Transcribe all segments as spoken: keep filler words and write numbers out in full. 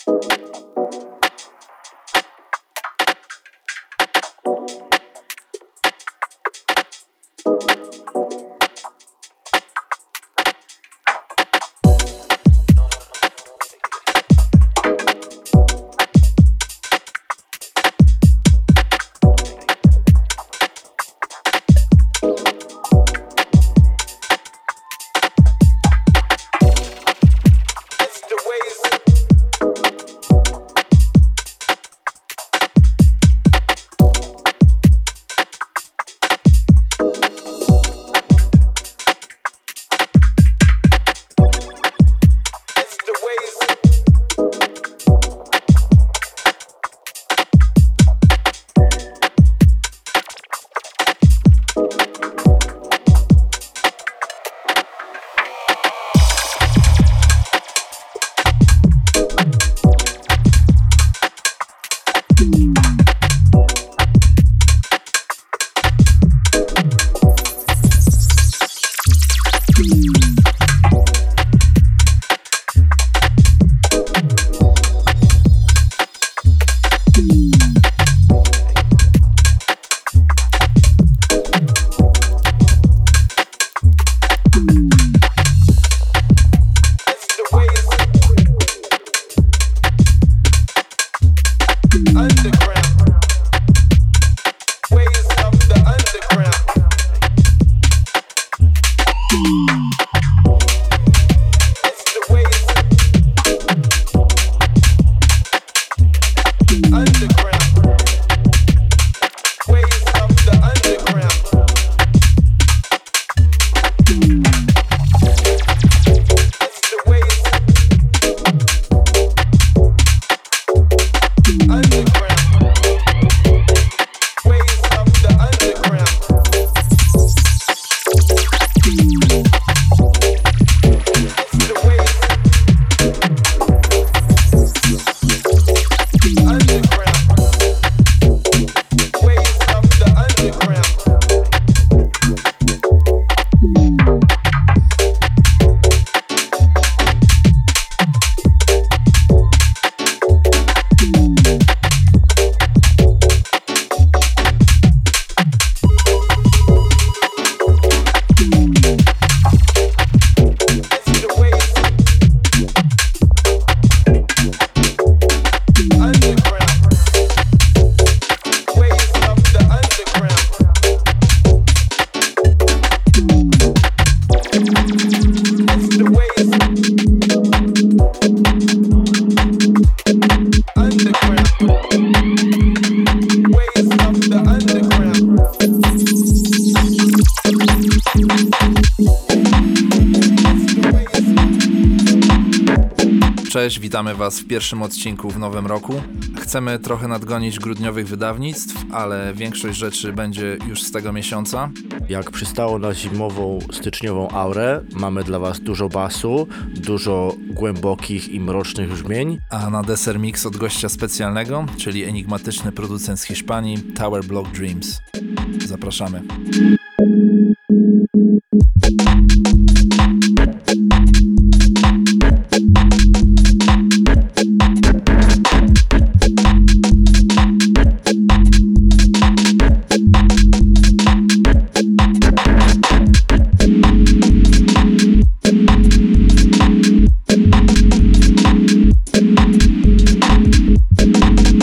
Cześć, witamy Was w pierwszym odcinku w nowym roku. Chcemy trochę nadgonić grudniowych wydawnictw, ale większość rzeczy będzie już z tego miesiąca. Jak przystało na zimową, styczniową aurę, mamy dla Was dużo basu, dużo głębokich i mrocznych brzmień. A na deser mix od gościa specjalnego, czyli enigmatyczny producent z Hiszpanii, Tower Block Dreams. Zapraszamy.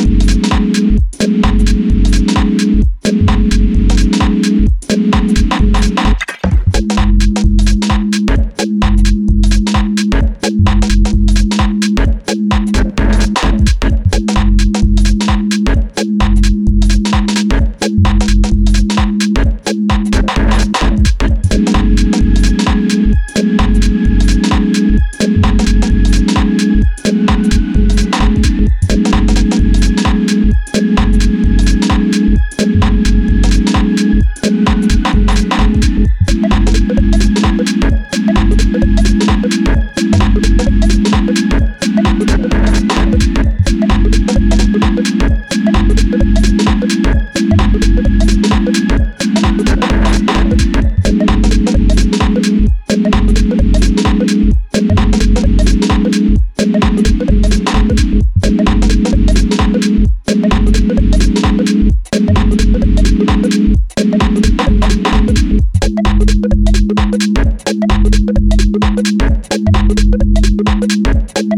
We'll be right back.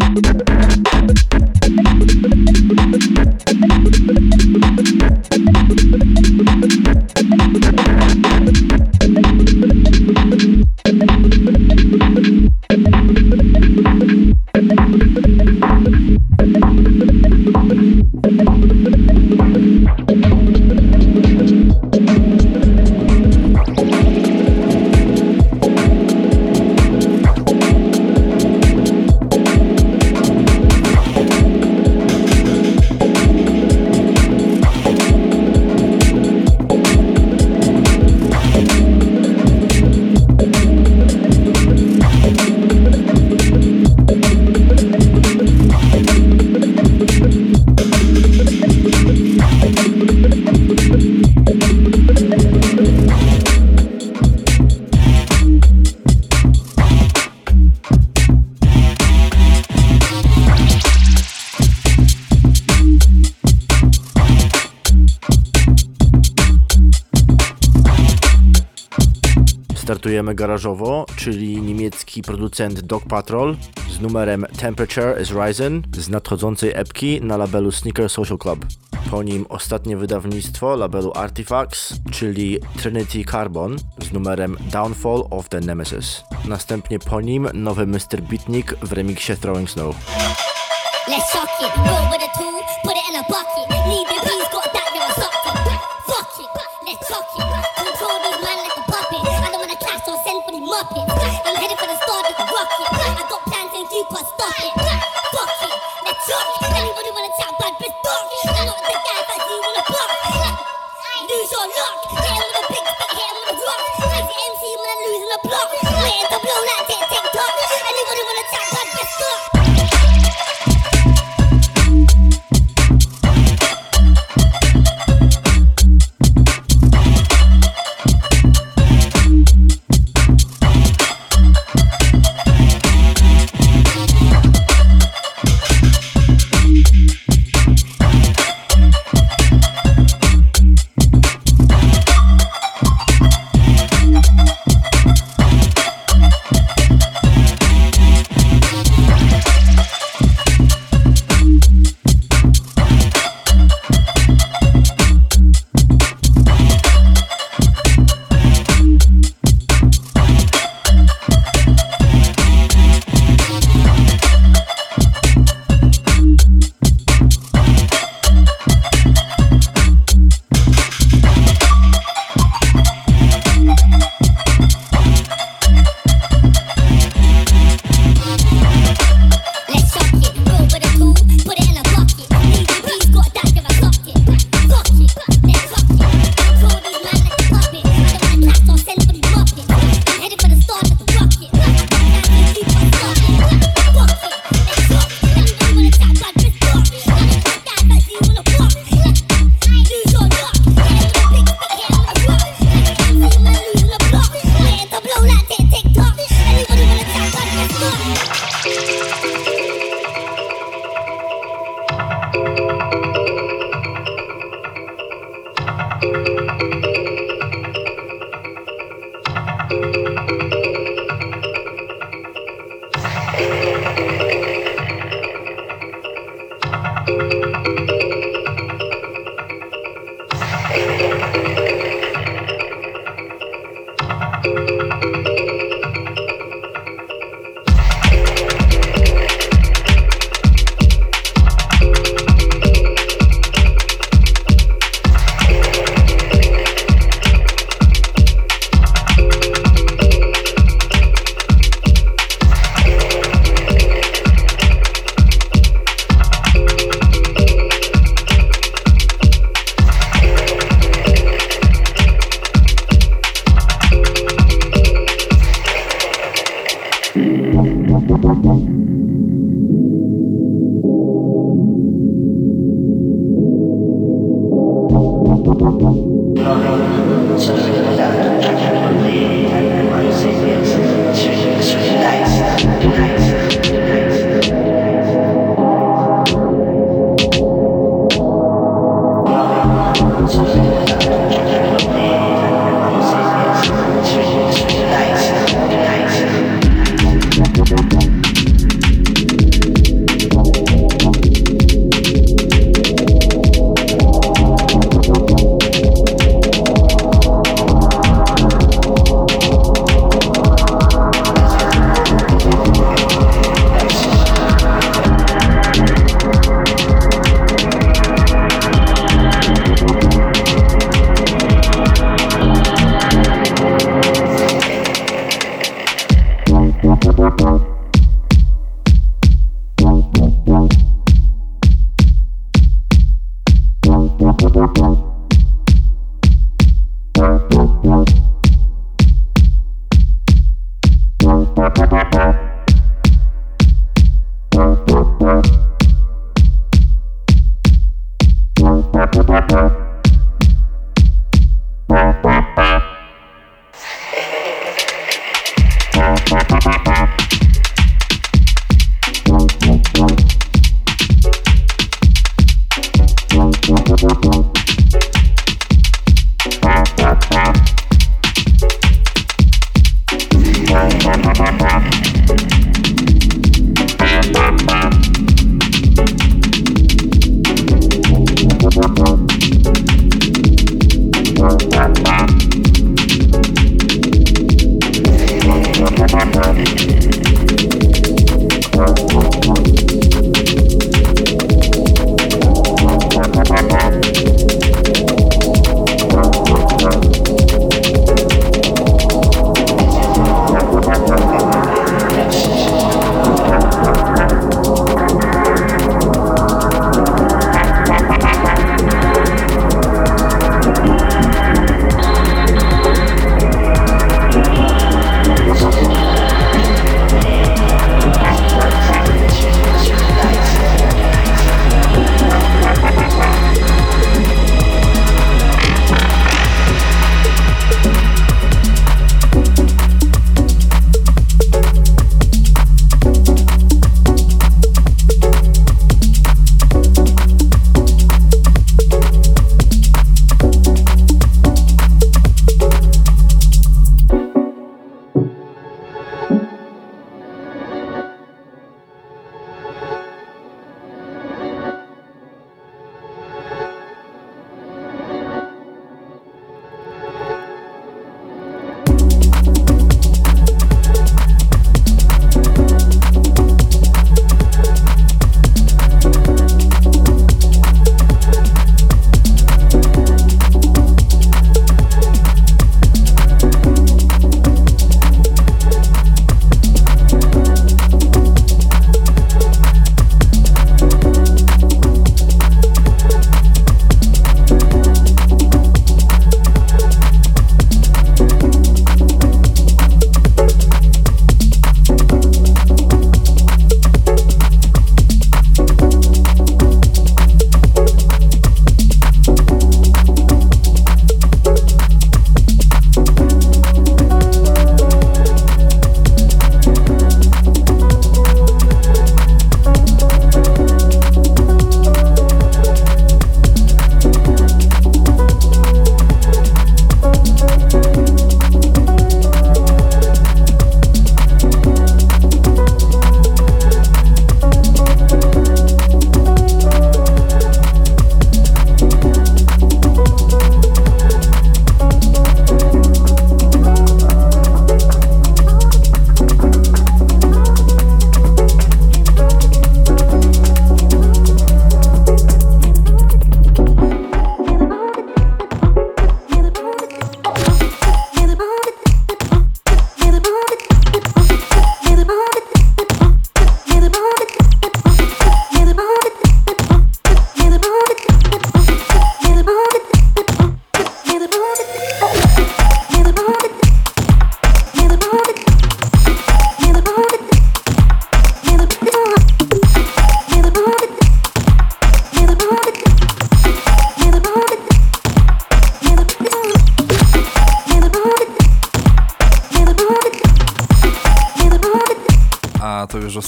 Startujemy garażowo, czyli niemiecki producent Dog Patrol z numerem Temperature is Rising z nadchodzącej epki na labelu Sneaker Social Club. Po nim ostatnie wydawnictwo labelu Artifacts, czyli Trinity Carbon z numerem Downfall of the Nemesis. Następnie po nim nowy mister Beatnik w remiksie Throwing Snow. Let's shock it, roll with a tool, put it in a bucket. Leave your peas, got that, you're a sucker. Fuck it, let's shock it. Control these man like a puppet. I don't wanna clash, so send for the muppets. I'm headed for the start of the rocket. I got plans and you can't stop it. Fuck it, let's shock it. Anybody wanna chat bad, bitch, fuck it. I'm not the guy that you wanna block. Lose your luck, hit him with a big stick, hit him with a rock. Crazy M C when I'm losing the block. Waiting to blow like tick, tick, tock. Anybody wanna chat bad, bitch, fuck.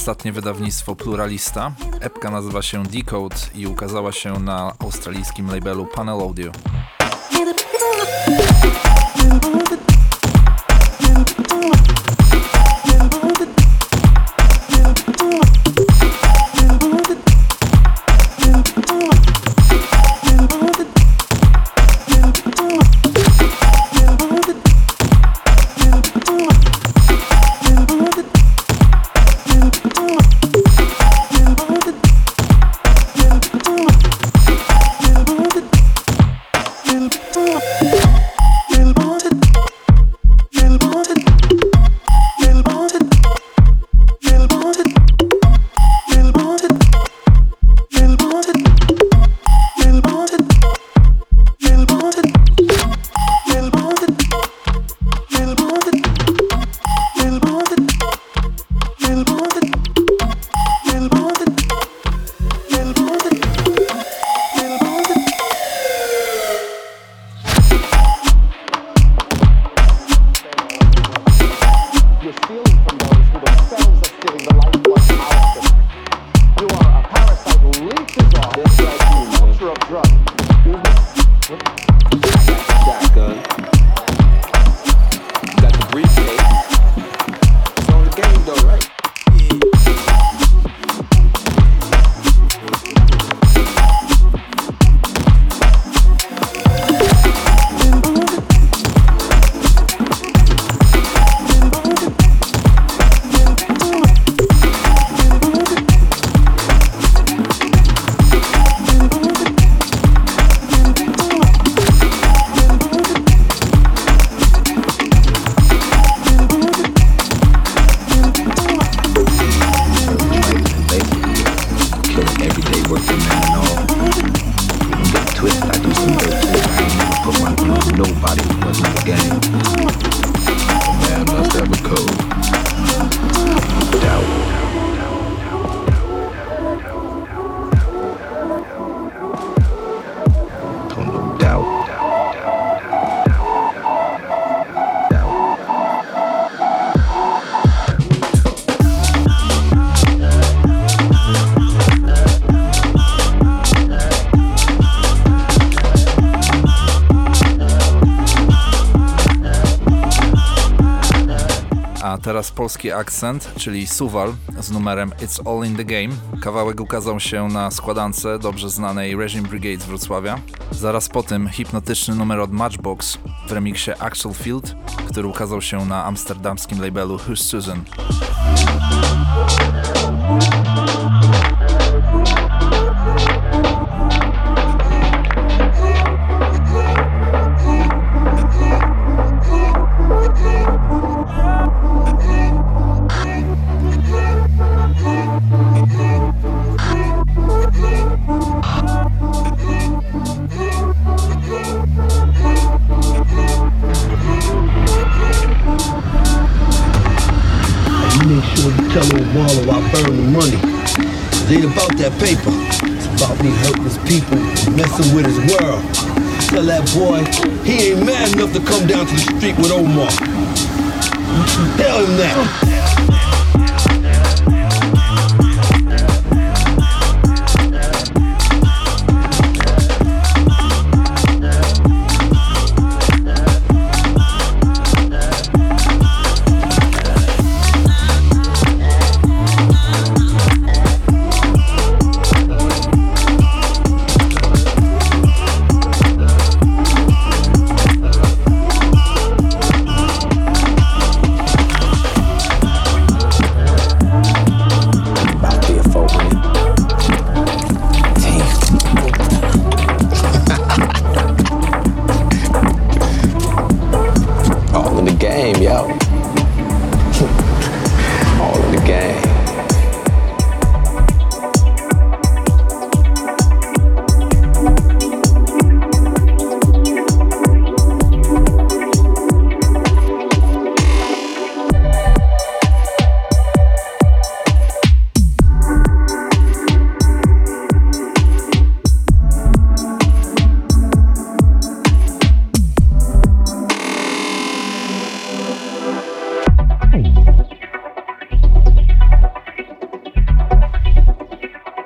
ostatnie wydawnictwo Pluralista. Epka nazywa się Decode i ukazała się na australijskim labelu Panel Audio. Teraz polski akcent, czyli Suwal z numerem It's All in the Game. Kawałek ukazał się na składance dobrze znanej Regime Brigade z Wrocławia. Zaraz po tym hipnotyczny numer od Matchbox w remiksie Axel Field, który ukazał się na amsterdamskim labelu Who's Susan. Tell old Marlo I burn the money. It ain't about that paper. It's about me hurting his people, messing with his world. Tell that boy he ain't mad enough to come down to the street with Omar. Tell him that.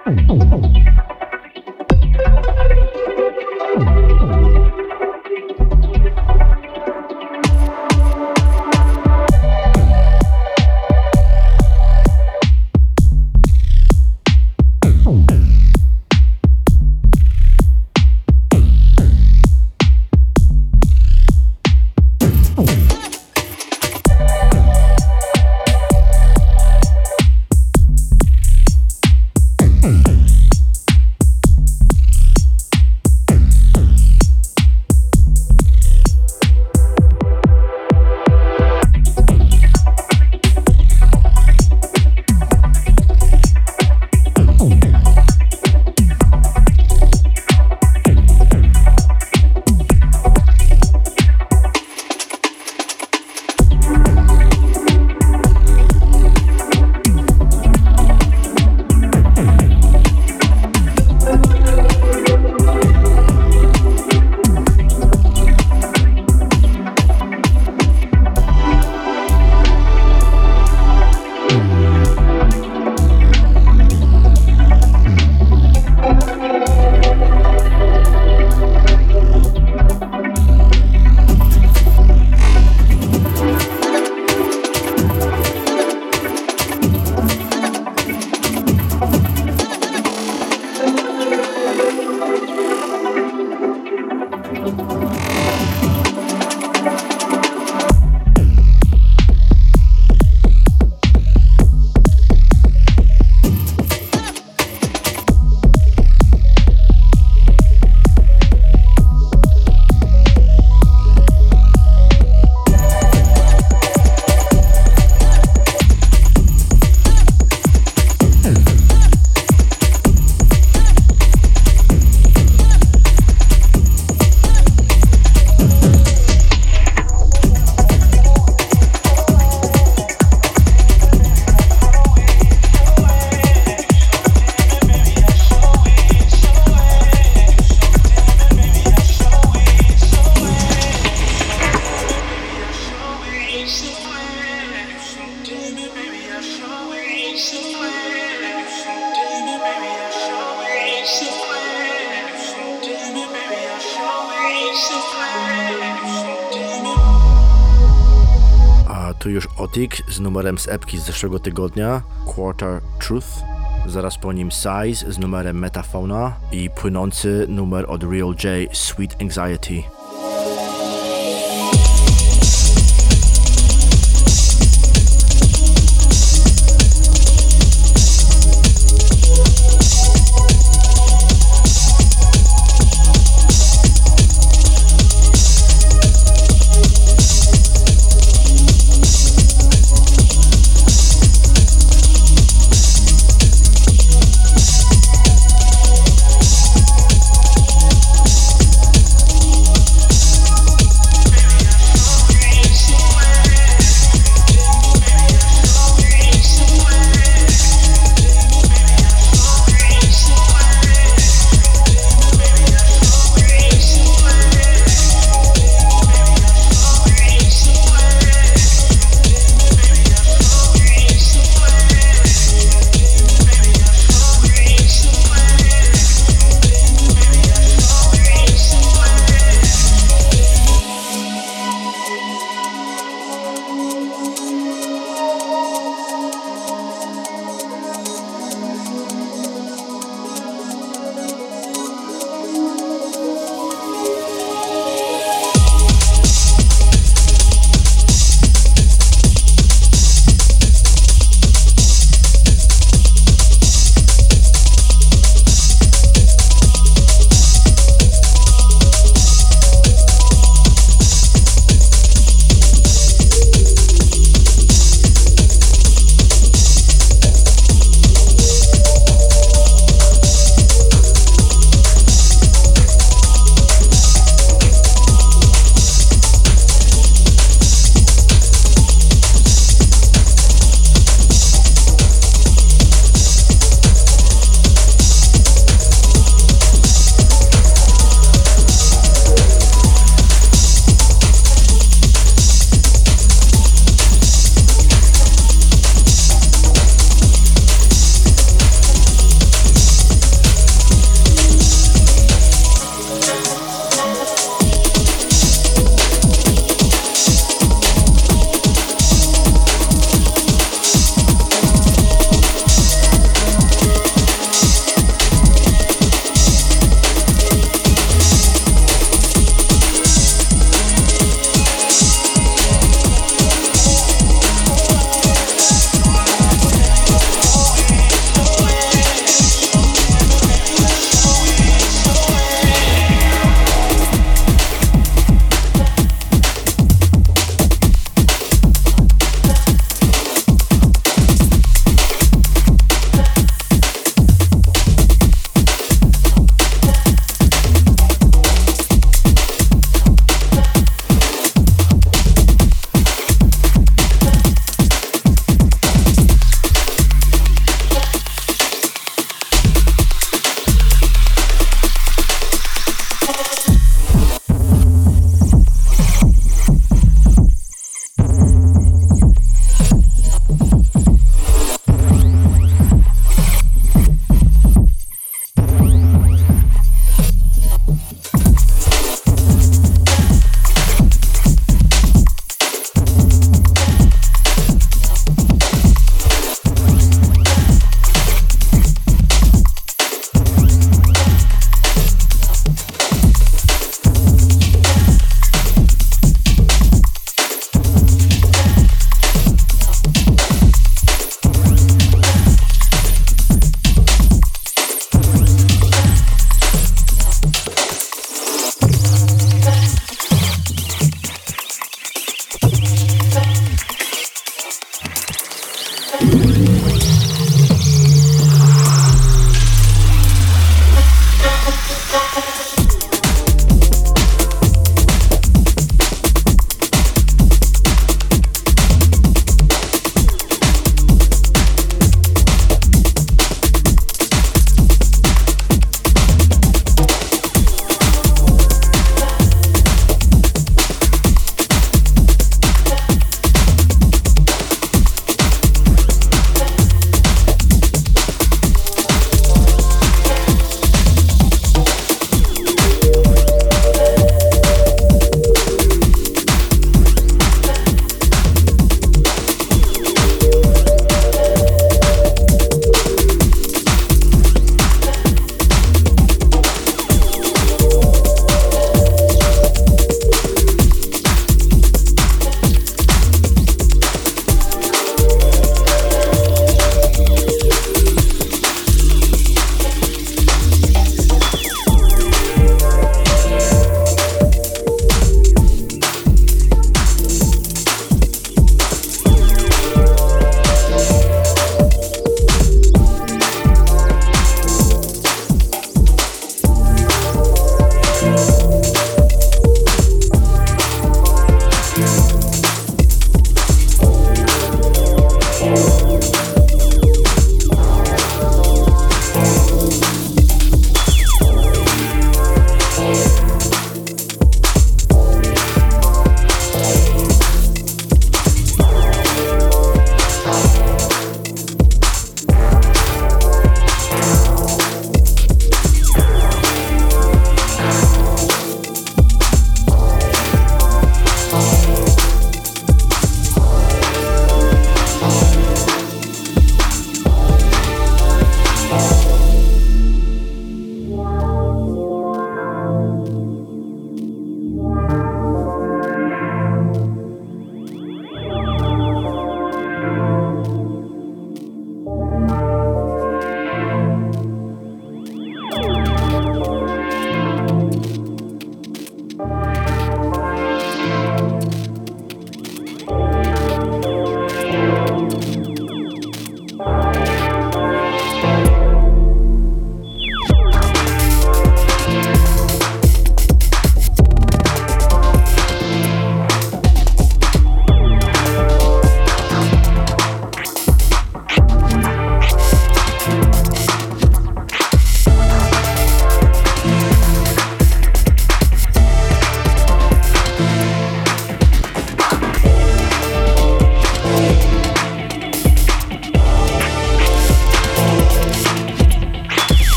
A tu już Otik z numerem z epki z zeszłego tygodnia, Quarter Truth. Zaraz po nim Size z numerem Metafauna i płynący numer od Real J, Sweet Anxiety.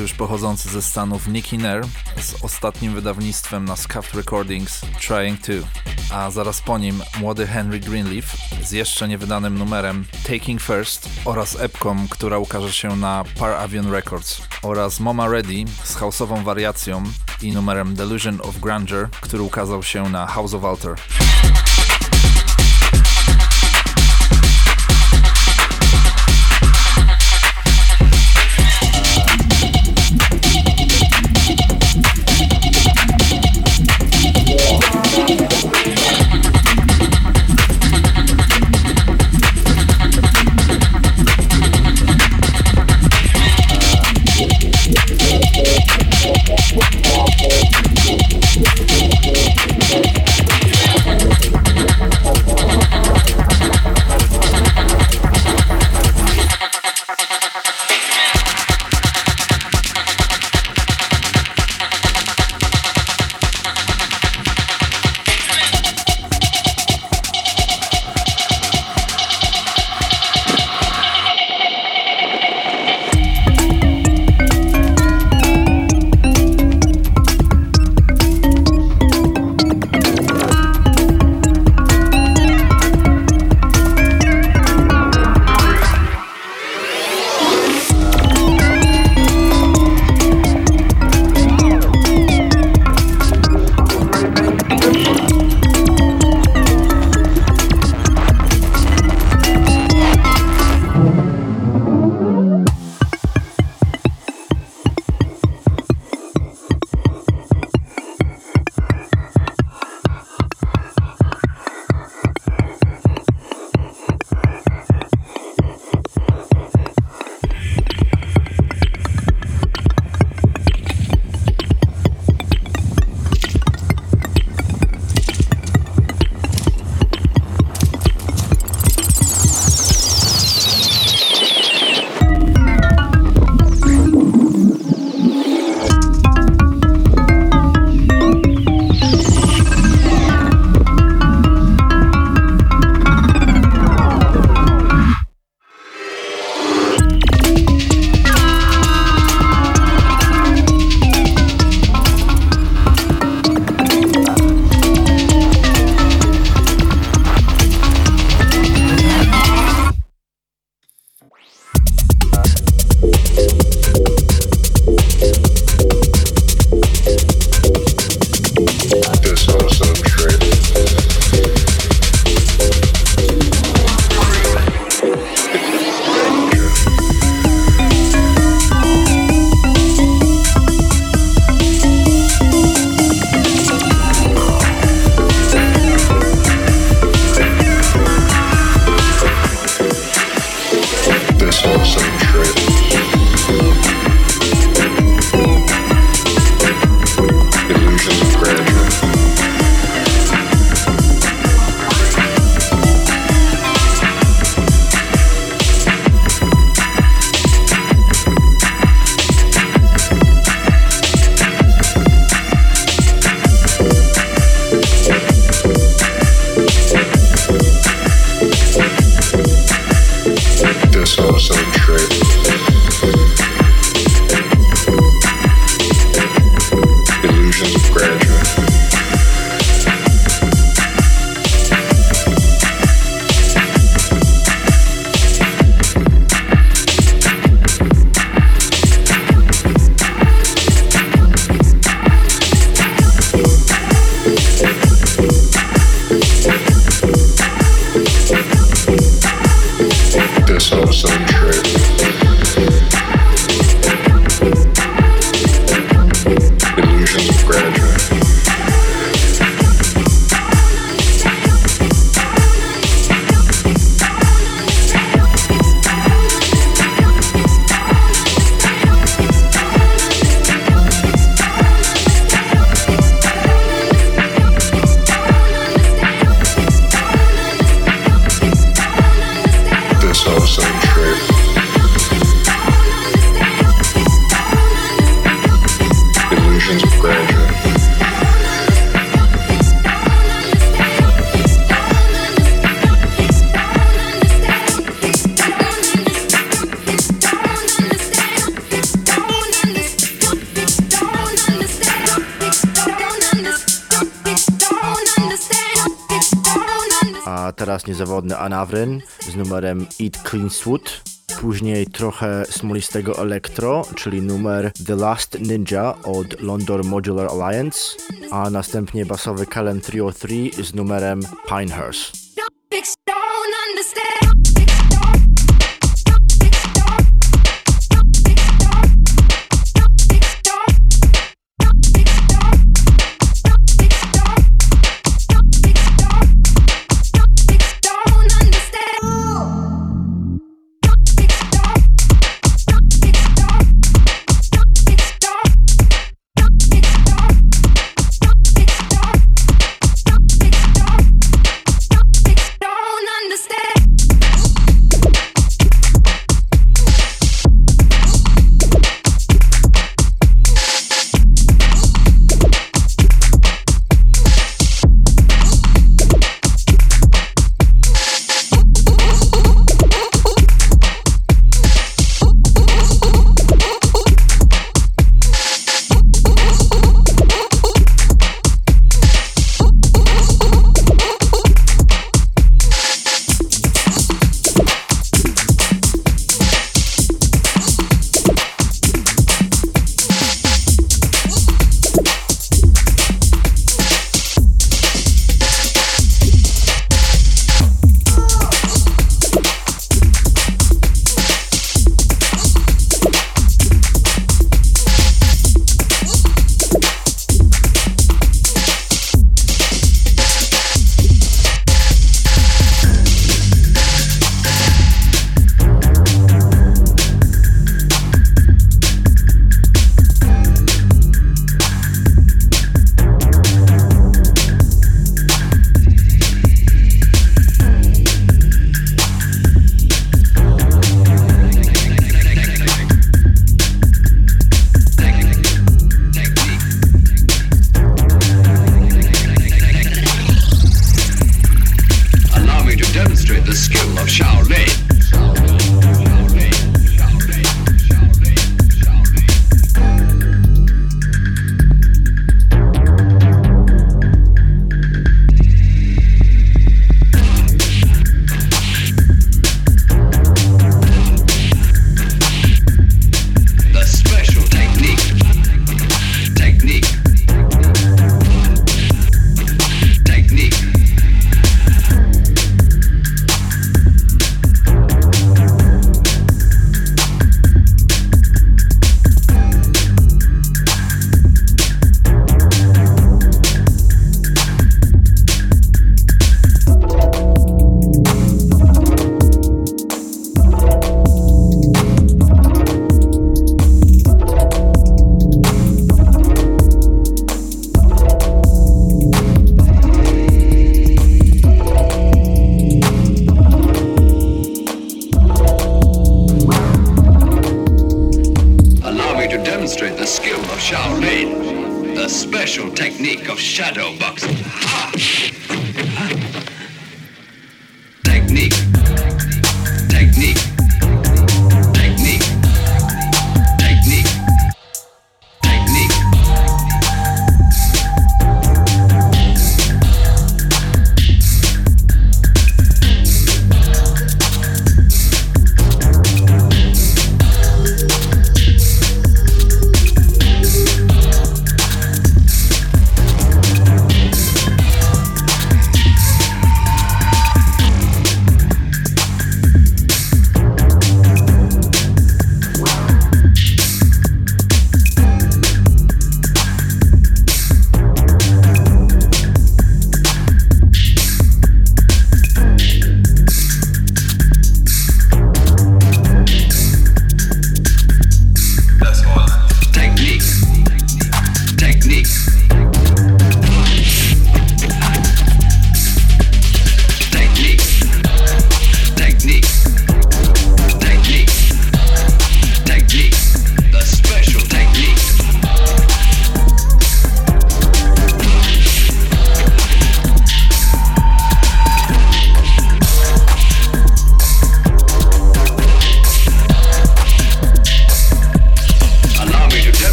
to już pochodzący ze Stanów Nicky Nair z ostatnim wydawnictwem na Scuffed Recordings Trying To, a zaraz po nim młody Henry Greenleaf z jeszcze niewydanym numerem Taking First oraz epką, która ukaże się na Par Avion Records, oraz Moma Ready z house'ową wariacją i numerem Delusion of Grandeur, który ukazał się na House of Altar. This whole same trip. teraz niezawodny Anavrin z numerem Eat Clean Swoot. Później trochę smolistego elektro, czyli numer The Last Ninja od London Modular Alliance, a następnie basowy Kalen trzysta trzy z numerem Pinehurst. technique of shadow boxing. Ha! Technique. Technique. Technique. Technique. Technique.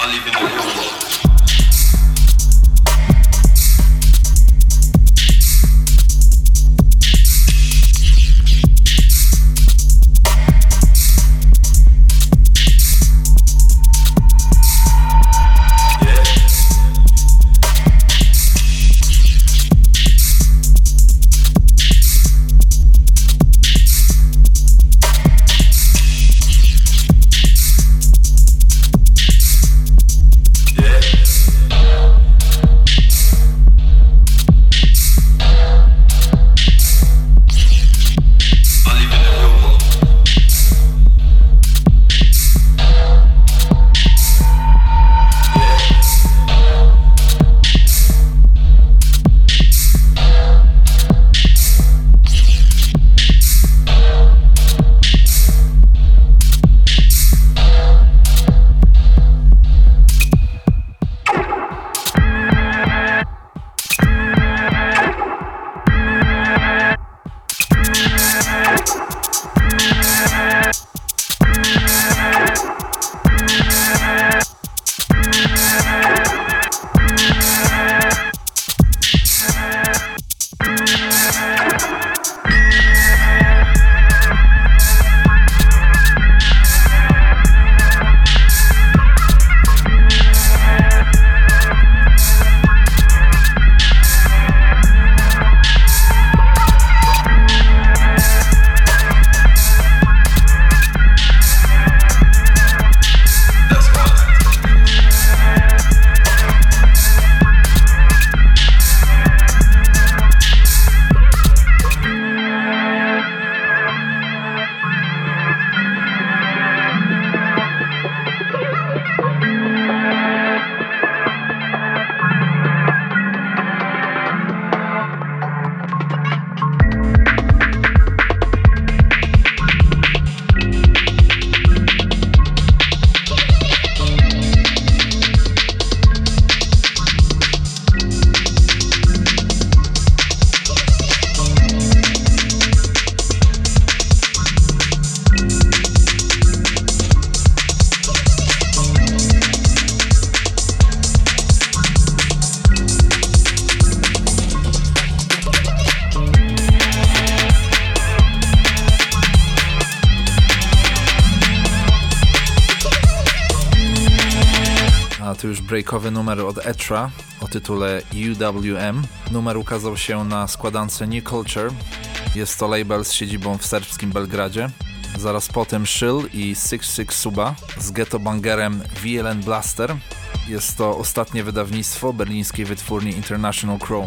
To już breakowy numer od Etra o tytule U W M. Numer ukazał się na składance New Culture. Jest to label z siedzibą w serbskim Belgradzie. Zaraz potem Szyll i six six Suba z ghetto bangerem V L N Blaster. Jest to ostatnie wydawnictwo berlińskiej wytwórni International Chrome.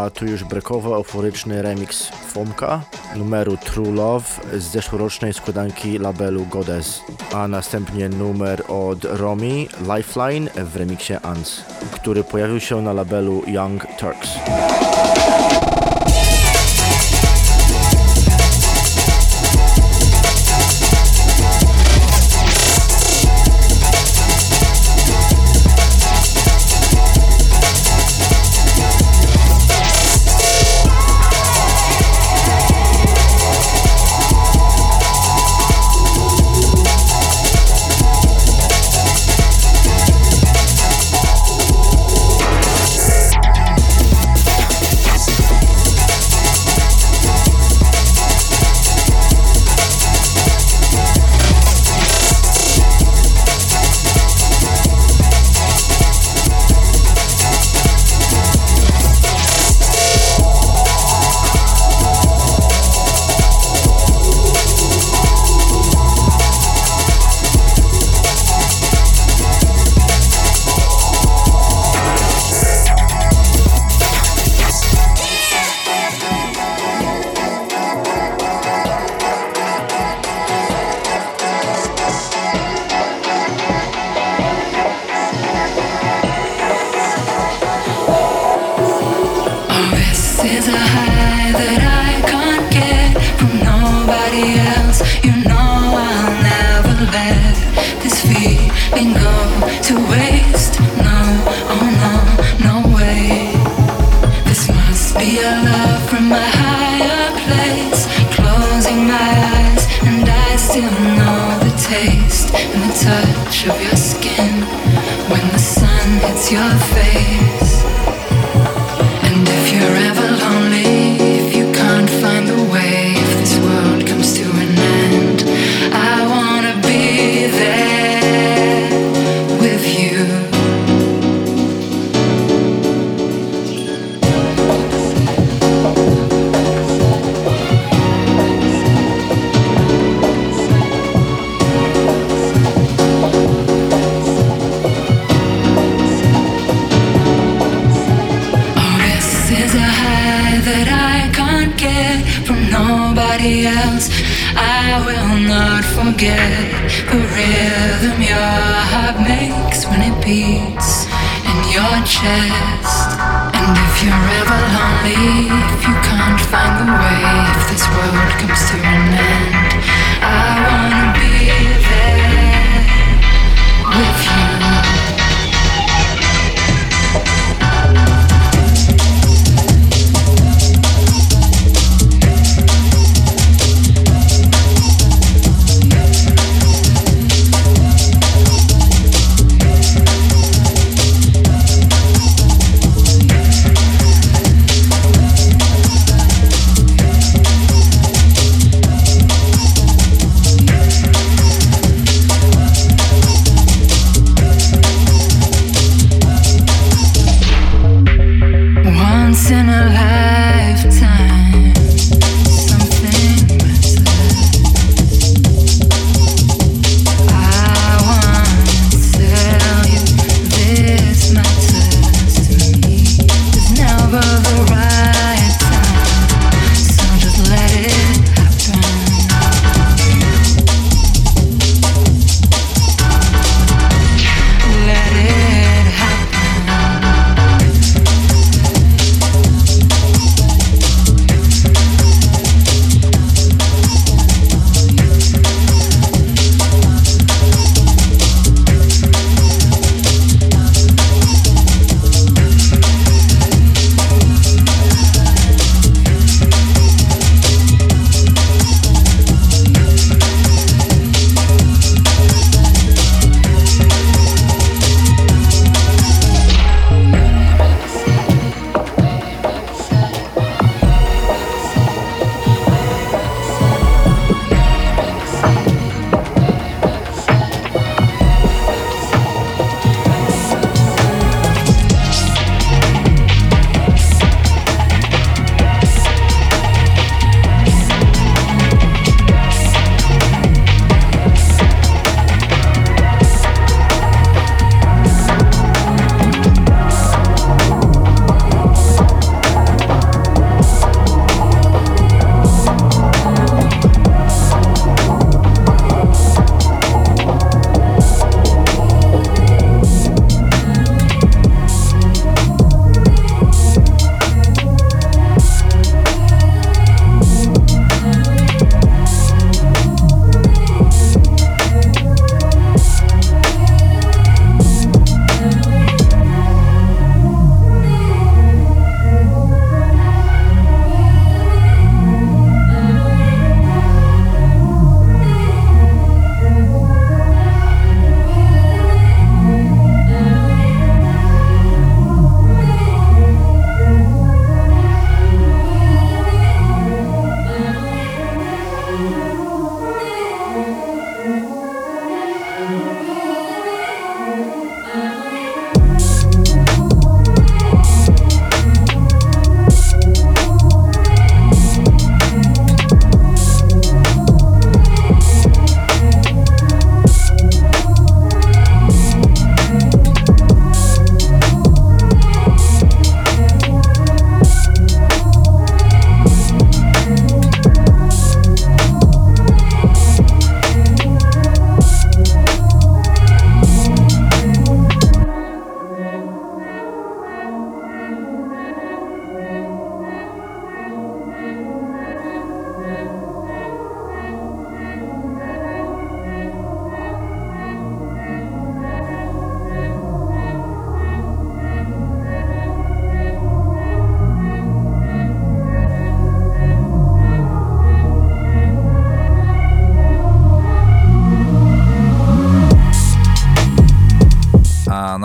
a tu już breakowy, euforyczny remix Fomka numeru True Love z zeszłorocznej składanki labelu Goddess, a następnie numer od Romy, Lifeline w remiksie Ants, który pojawił się na labelu Young Turks.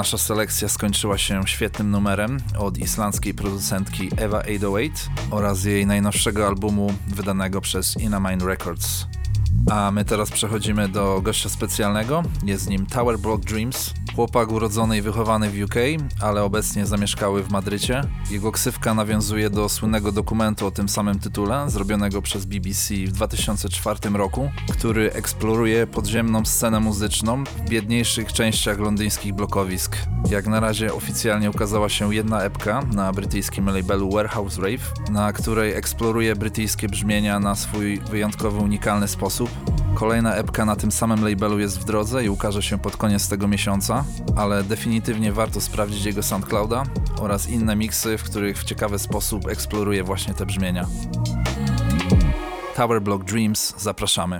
nasza selekcja skończyła się świetnym numerem od islandzkiej producentki Eva osiemset osiem oraz jej najnowszego albumu wydanego przez Inamine Records. A my teraz przechodzimy do gościa specjalnego. Jest nim Tower Block Dreams, chłopak urodzony i wychowany w U K, ale obecnie zamieszkały w Madrycie. Jego ksywka nawiązuje do słynnego dokumentu o tym samym tytule, zrobionego przez B B C w dwa tysiące czwartym roku, który eksploruje podziemną scenę muzyczną w biedniejszych częściach londyńskich blokowisk. Jak na razie oficjalnie ukazała się jedna epka na brytyjskim labelu Warehouse Rave, na której eksploruje brytyjskie brzmienia na swój wyjątkowy, unikalny sposób. Kolejna epka na tym samym labelu jest w drodze i ukaże się pod koniec tego miesiąca, ale definitywnie warto sprawdzić jego SoundClouda oraz inne miksy, w których w ciekawy sposób eksploruje właśnie te brzmienia. Tower Block Dreams, zapraszamy.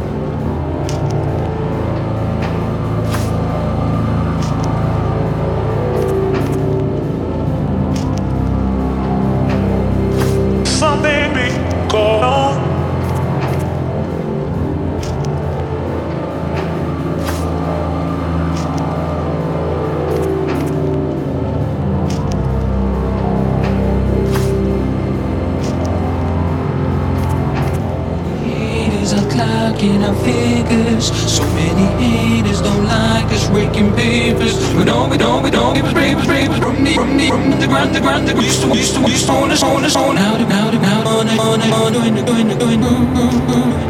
In our figures, so many haters don't like us breaking papers. We don't, we don't, we don't give us papers, papers from the, from the, from the ground, the ground. We used to, used to, used to own us, own us, own out, out, out, on it, on it, on doing, doing, doing, doing.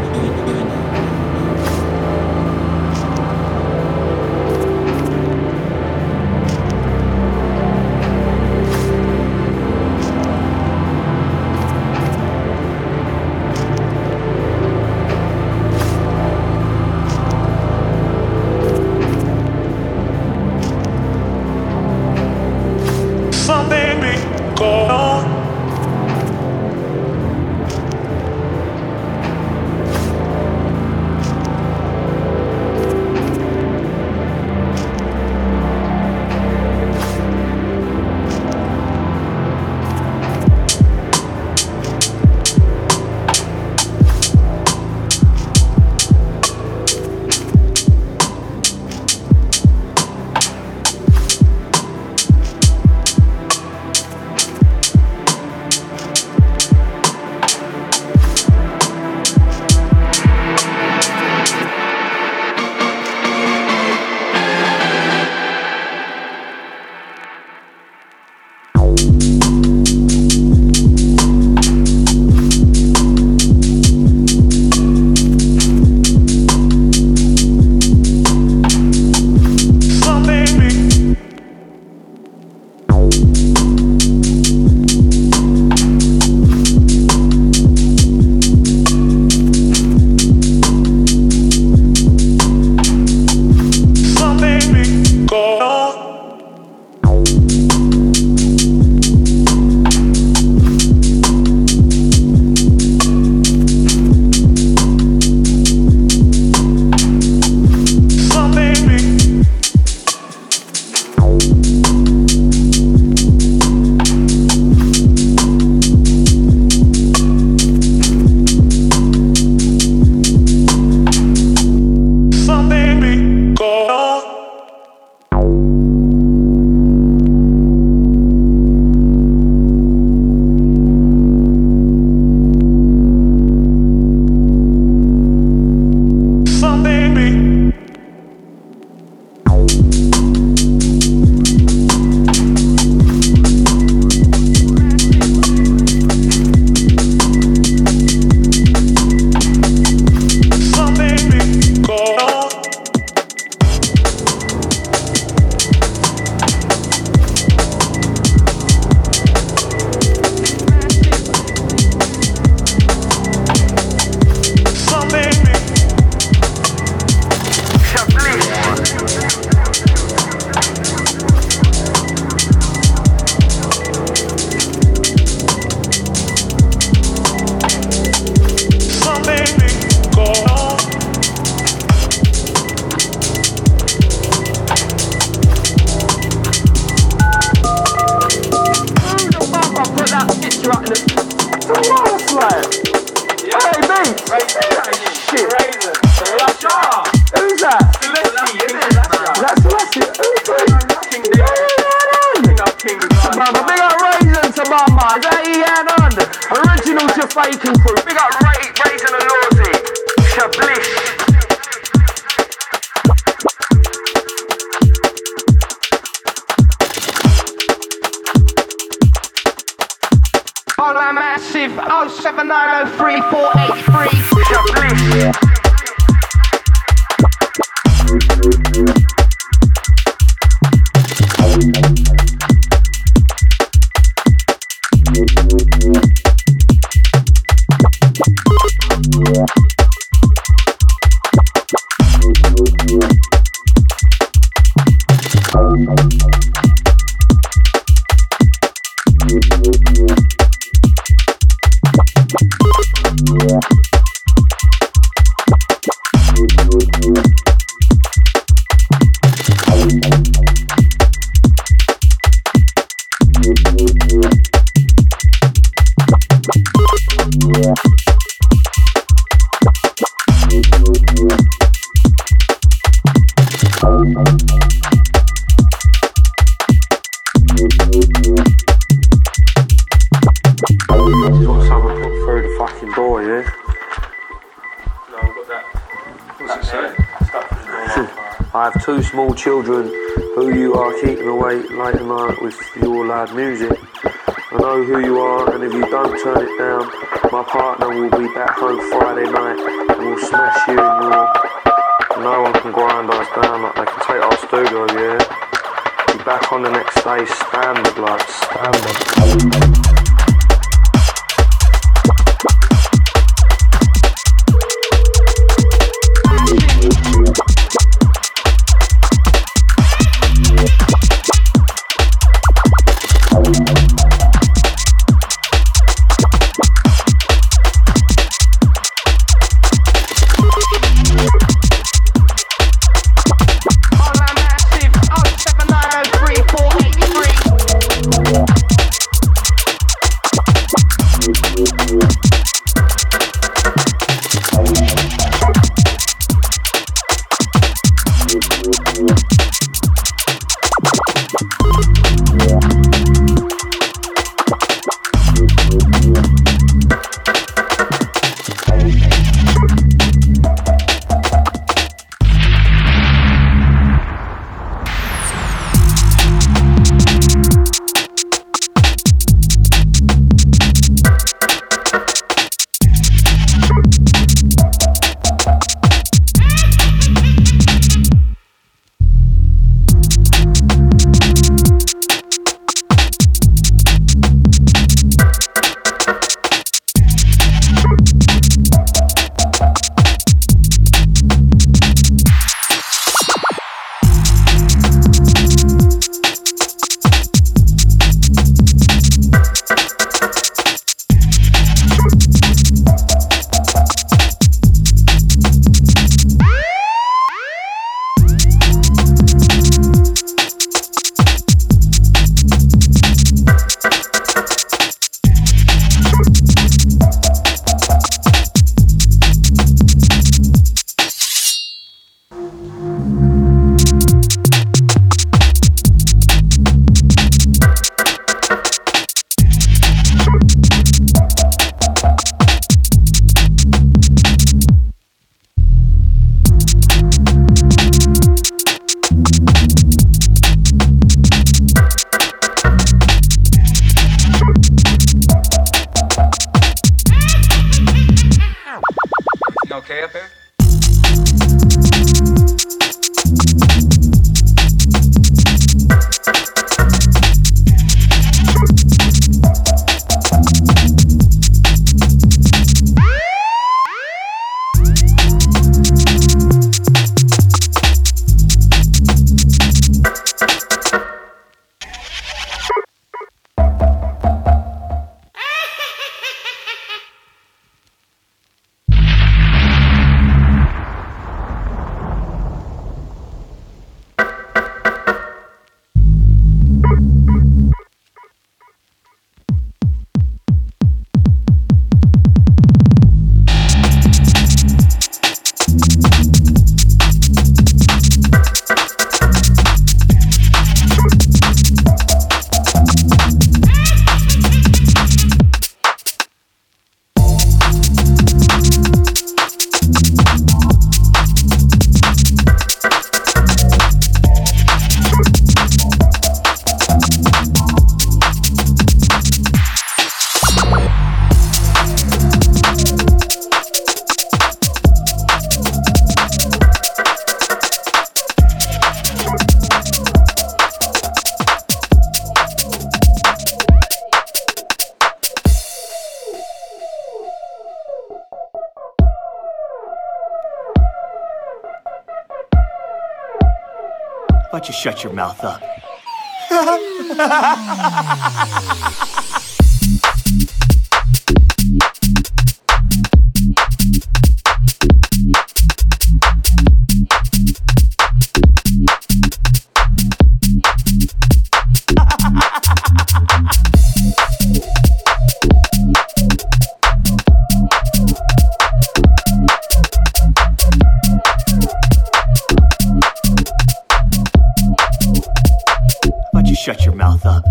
Shit. Who's that? That's that's it. King D. King up King. Mama, big up Raisin to mama. Is that Ian on? Original to faking crew. Big up Ray, Raisin and Lawsy. Shablish. Hola Massive oh seven nine oh three four eight three. Shablish. Two small children who you are keeping awake late at night with your loud music. I know who you are, and if you don't turn it down, my partner will be back home Friday night and will smash you in your... No one can grind us down like they can take our studio, yeah? Be back on the next day, standard like, standard. Okay up there? Why don't you shut your mouth up? Shut your mouth up.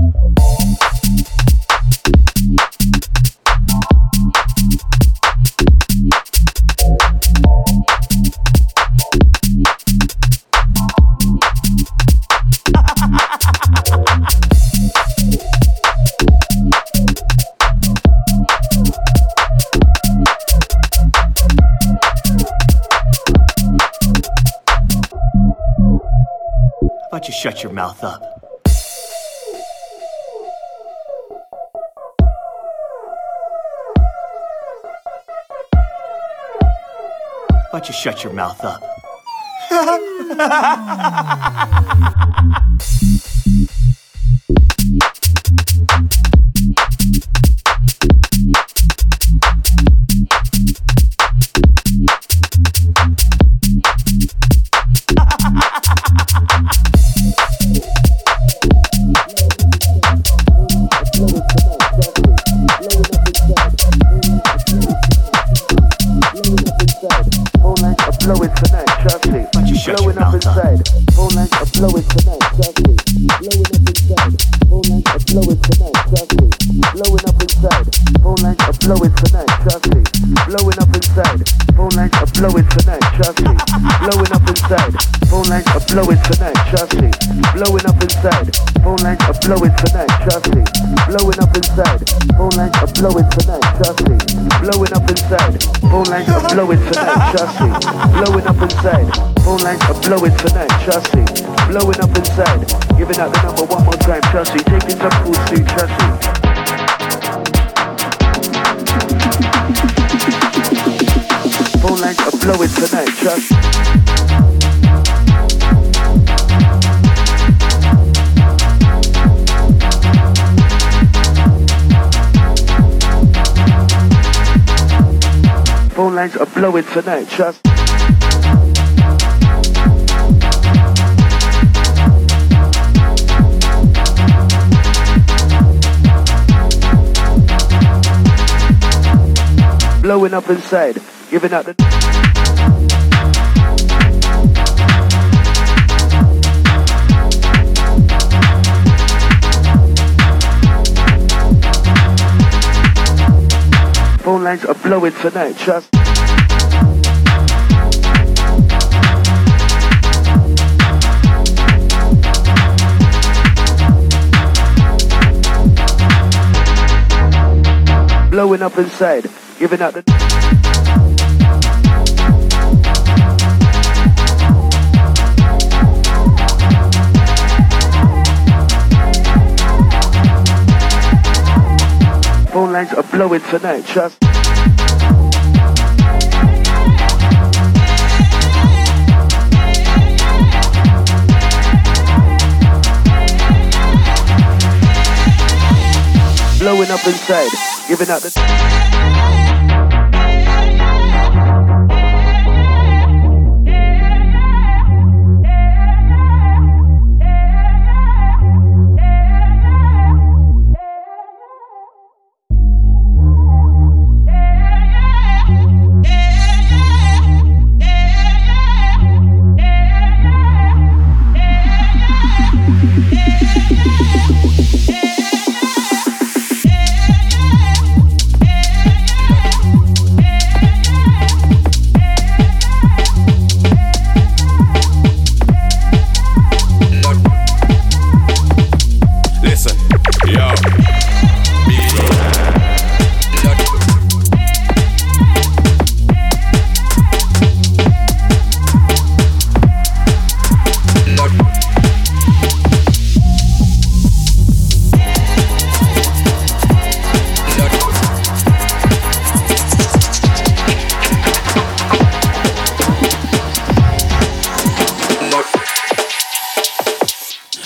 Why don't you shut your mouth up? Why don't you shut your mouth up? Blowing tonight, trust me. Blowing up inside. Phone lines are blowing tonight, trust me. Blowing up inside. Phone lines are blowing tonight, trust me. Blowing up inside. Phone lines are blowing tonight, trust me. Blowing up inside. Phone lines are blowing tonight, trust me. Blowing up inside. Giving out the number one more time, trust me. Taking some food, sweet, trust me. Phone lines are blowing tonight, trust me. Phone lines are blowing tonight, trust. Blowing up inside, giving out the... Phone lines are blowing tonight, trust. Blowing up inside, giving out the... Phone lines are blowing tonight, trust. Blowing up inside, giving out the...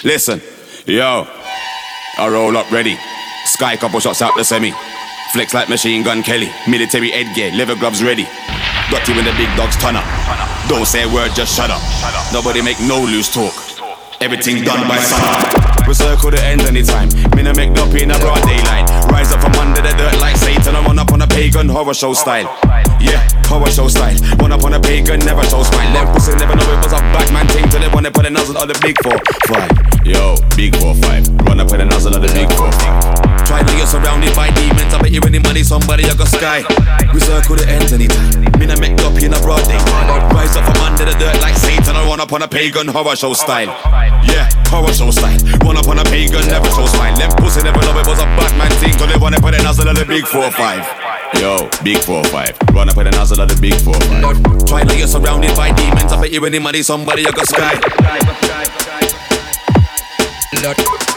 Listen, yo, I roll up ready. Sky couple shots out the semi. Flex like Machine Gun Kelly. Military headgear, leather gloves ready. Got you in the big dogs ton up. Don't say a word, just shut up. Nobody make no loose talk. Everything done by sun. We circle the end anytime. Me no make no pain in a broad daylight. Rise up from under the dirt like Satan. I run up on a pagan horror show style. Yeah, horror show style. Run up on a pagan, never show smile. Left pussy never know it was a Batman thing till they wanna put a nozzle on the big four five. Yo, big four five. Run up with a nozzle on the big four five. Try to get surrounded by demons. I bet you any money somebody you got sky. We circle the ends anytime. Me no make up in a broad day. Rise up from under the dirt like Satan. I run up on a pagan horror show style. Yeah, horror show style. Run up on a pagan, never show smile. Them pussy never know it was a Batman thing till they wanna put a nozzle on the big four five. Yo, big four five. Run up with a nozzle on the big four five. Try to get surrounded by demons. I bet you any money somebody you got sky. Lord.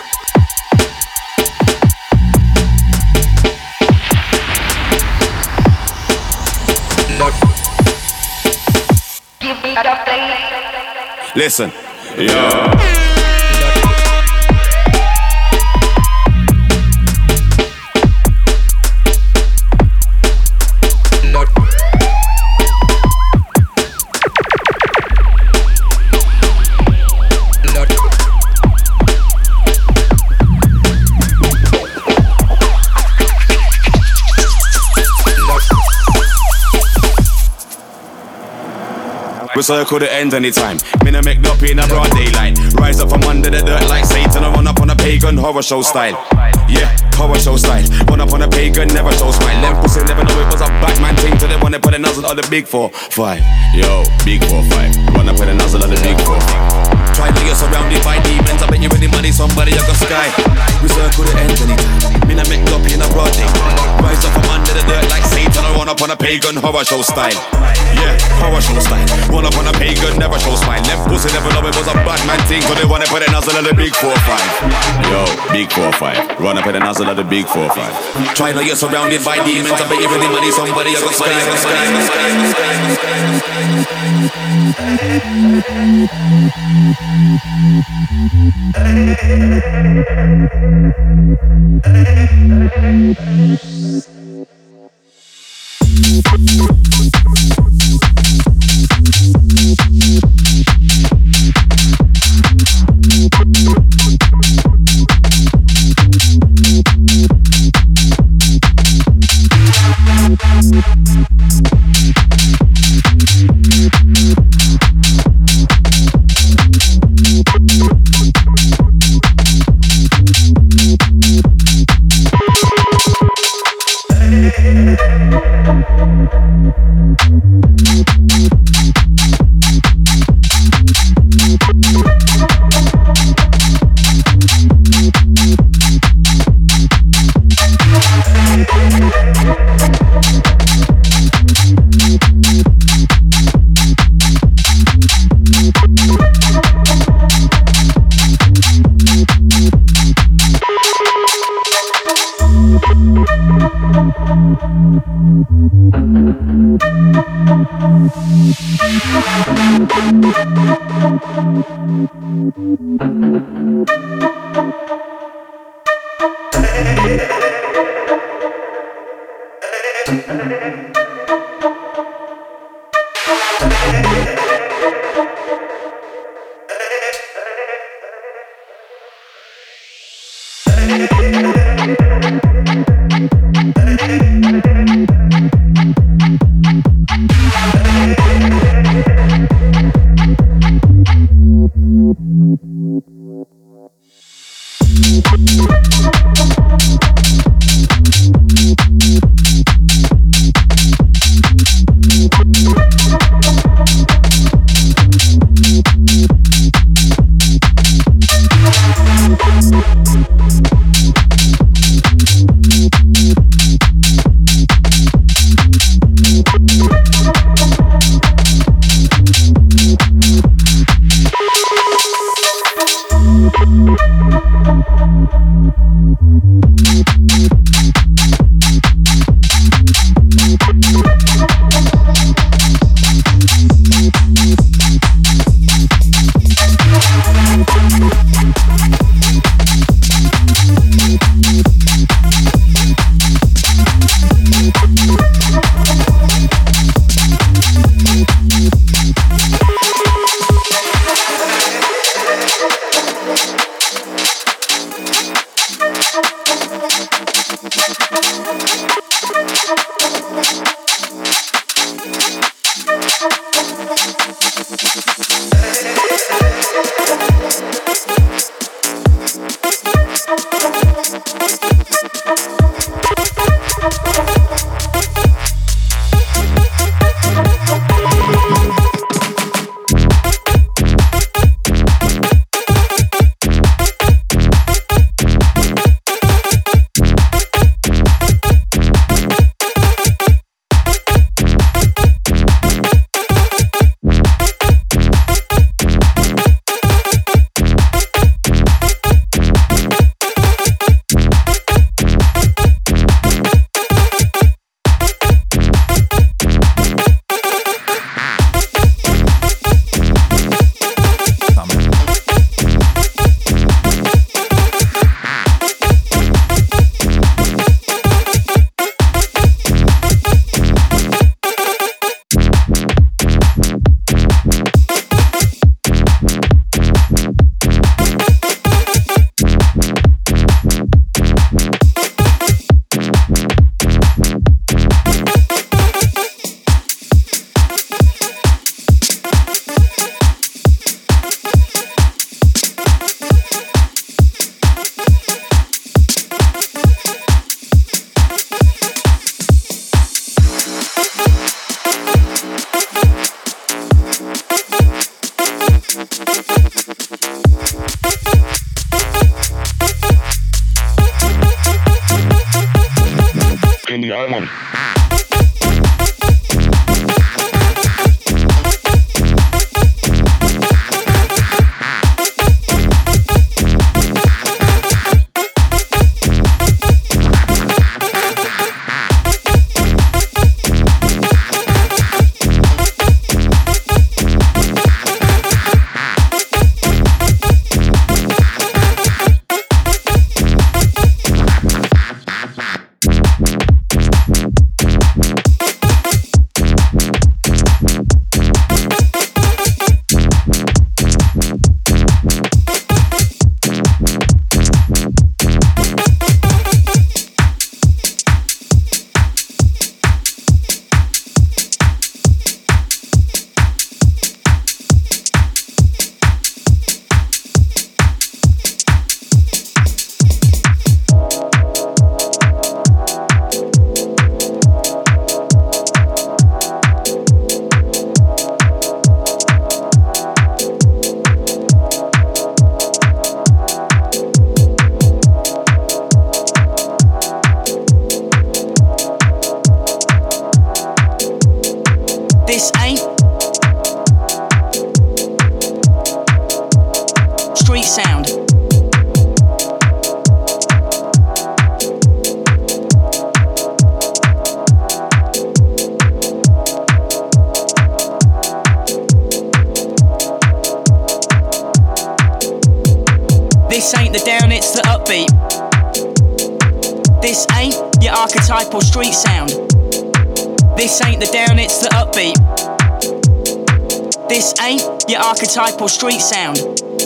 Listen, yo. We circle the ends anytime. Me no make no pain in a broad daylight. Rise up from under the dirt like Satan. I run up on a pagan horror show style. Yeah, horror show style. Run up on a pagan, never show smile. Them pussy never know it was a Batman thing till they wanna put a nozzle on the big four five. Yo, big four five. Run up with a nozzle on the big four five. Try to get surrounded by demons. I bet you any money somebody you got sky. We circle the ends anytime. Me no make no pain in a broad day. Rise up from under the dirt like Satan. I run up on a pagan horror show style. Yeah, horror show style. Run up on a pagan, never show smile. Them pussy never know it was a Batman thing till they wanna put a nozzle on the big four five. Yo, big four five. Run up with a nozzle on the big four five. Try to get surrounded by demons. I bet you any money somebody you got sky. money. Street sound. This ain't the down, it's the upbeat. This ain't your archetypal street sound.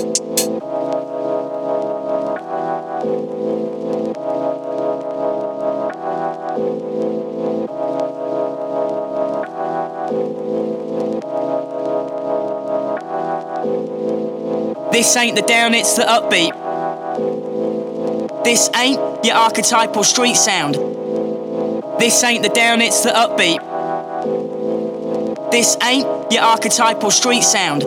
This ain't the down, it's the upbeat. This ain't your archetypal street sound. This ain't the down, it's the upbeat. This ain't your archetypal street sound.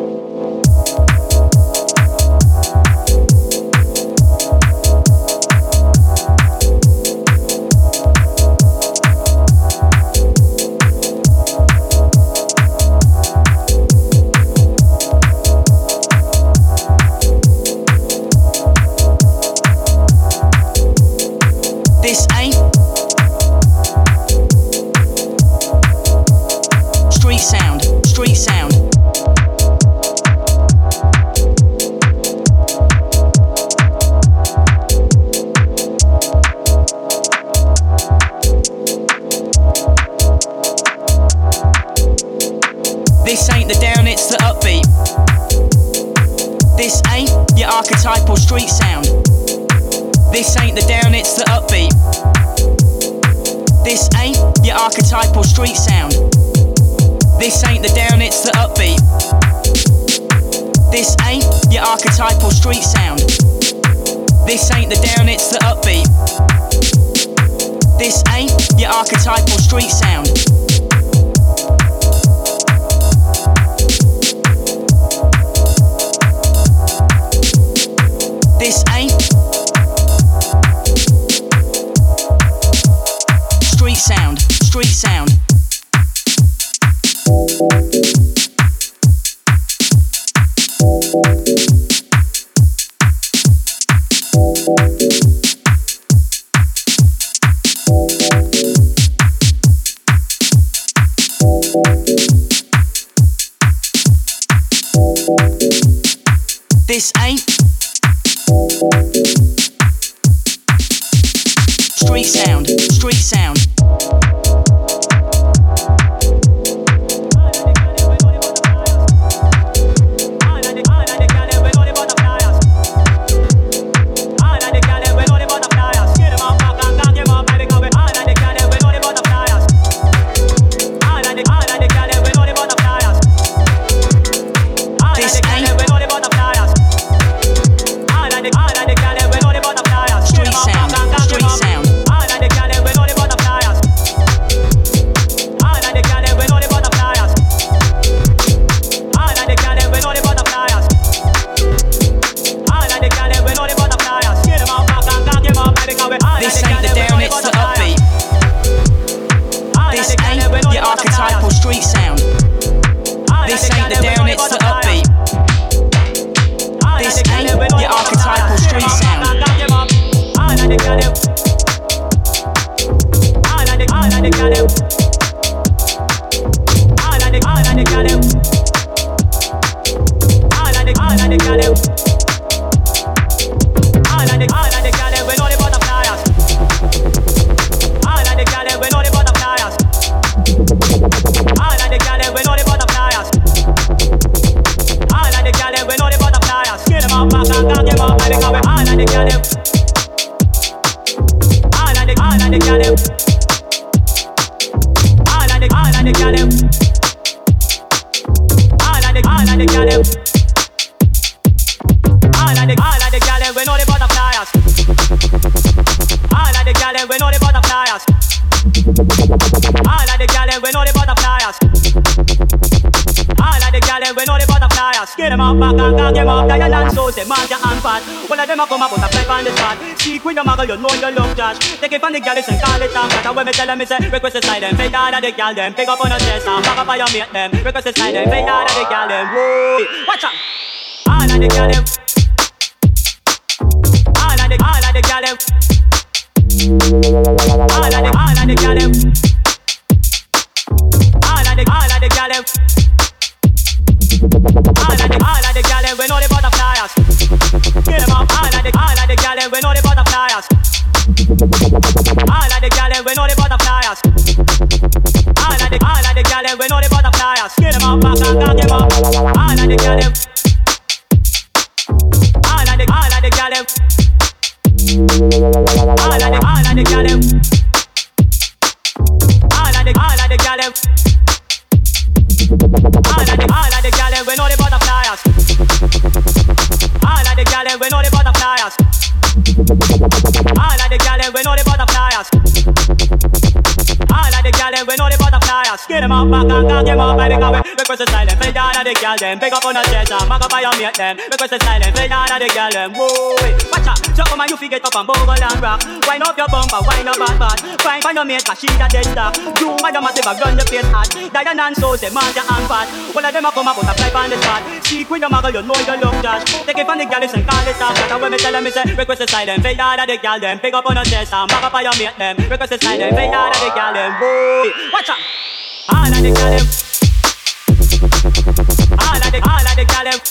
This ain't street sound, street sound. This ain't the down, it's the upbeat. This ain't your archetypal street sound. This ain't the down, it's the upbeat. This ain't your archetypal street sound. This ain't the down, it's the upbeat. This ain't your archetypal street sound. This ain't the down, it's the upbeat. This ain't your archetypal street sound. This ain't street sound, street sound. This ain't street sound, street sound. Street sound, street sound. archetypal street sound. This ain't the down, it's the upbeat. This ain't your archetypal street sound. All of the, all of the, all of the, all of the, all of the, all of the, all of the, we know the butterflies. All of the, we know the butterflies. All of the, we know the butterflies. All of the, we know the butterflies. Get them up, back and get them up, baby, cause we all of the, all of the, all of the, all of the, all of the, all of the, all of the, all of the, all of the, all of the gyal we know the butterflies. All of the gyal we know the butterflies. All of the gyal we know the butterflies. All of the gyal we know the butterflies. Get them up, back and get them up. Diane and Susie, Marja and Pat. All of them a come up with a fly on the spot. Speak with your muggle, you know you love Josh. Take it from the gyal and call it down. But when me tell them, me say request a side them. Fade all of the gyal them. Pick up on the chest and back up on your mate them. Request a side them. Fade all of the gyal them. Whoa, watch out. All of the gyal them. All of the, all of the gyal them. All of the, all of the gyal them. All of the, all of the gyal them. All of the, all of the gyal them. We know the butterflies. Get them up. All of the, all of the gyal them. We know the butterflies. All of the gyal them. We know the butterflies. All of the, all of the gyal them. We know the butterflies. Get them up, back and get them up. All of the gyal them. All of the, all of the gyal them. All of the, all of the gyal them. All of the, all of the gyal them. All of the, all of the gyal them. We know the butterflies. All of the gyal them. We know the butterflies. All of the gyal them. We know the butterflies. All of the gyal them. We know the butterflies. Get them up, back and get them up, baby, cause we request a silent. Fade all of the gyal them. Pick up on the chest and back up on your mate them. Request a silent. Fade all of the gyal them. Whoa, watch out. So come on, you forget up and bogle and rock. Wind up your bumper, wind up bad bad. Find find your mate, cause she the dead star. You and your massive run the place hot. Diane and Susie, Marja and Pat. All of them a come up with a fly on the spot. Speak with your muggle, you know you love Josh. Take it from the gyal and call it off. But when me tell them, me say request a silent. Fade all of the gyal them. Pick up on the chest and back up on your mate them. Request a silent. Fade all of the gyal them. Whoa, watch out. All of the gyal them. All of the, all of the gyal them.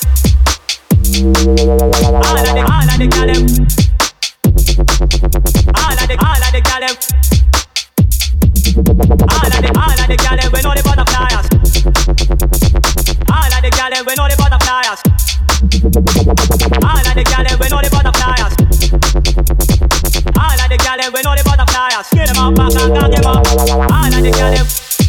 All of the, all of the gyal them. All of the, all of the gyal them. All of the, all of the gyal them. We know the butterflies. All of the gyal them. We know the butterflies. All of the gyal them. We know the butterflies. All of the gyal them. We know the butterflies. Get them up, back and get them up. All of the gyal them.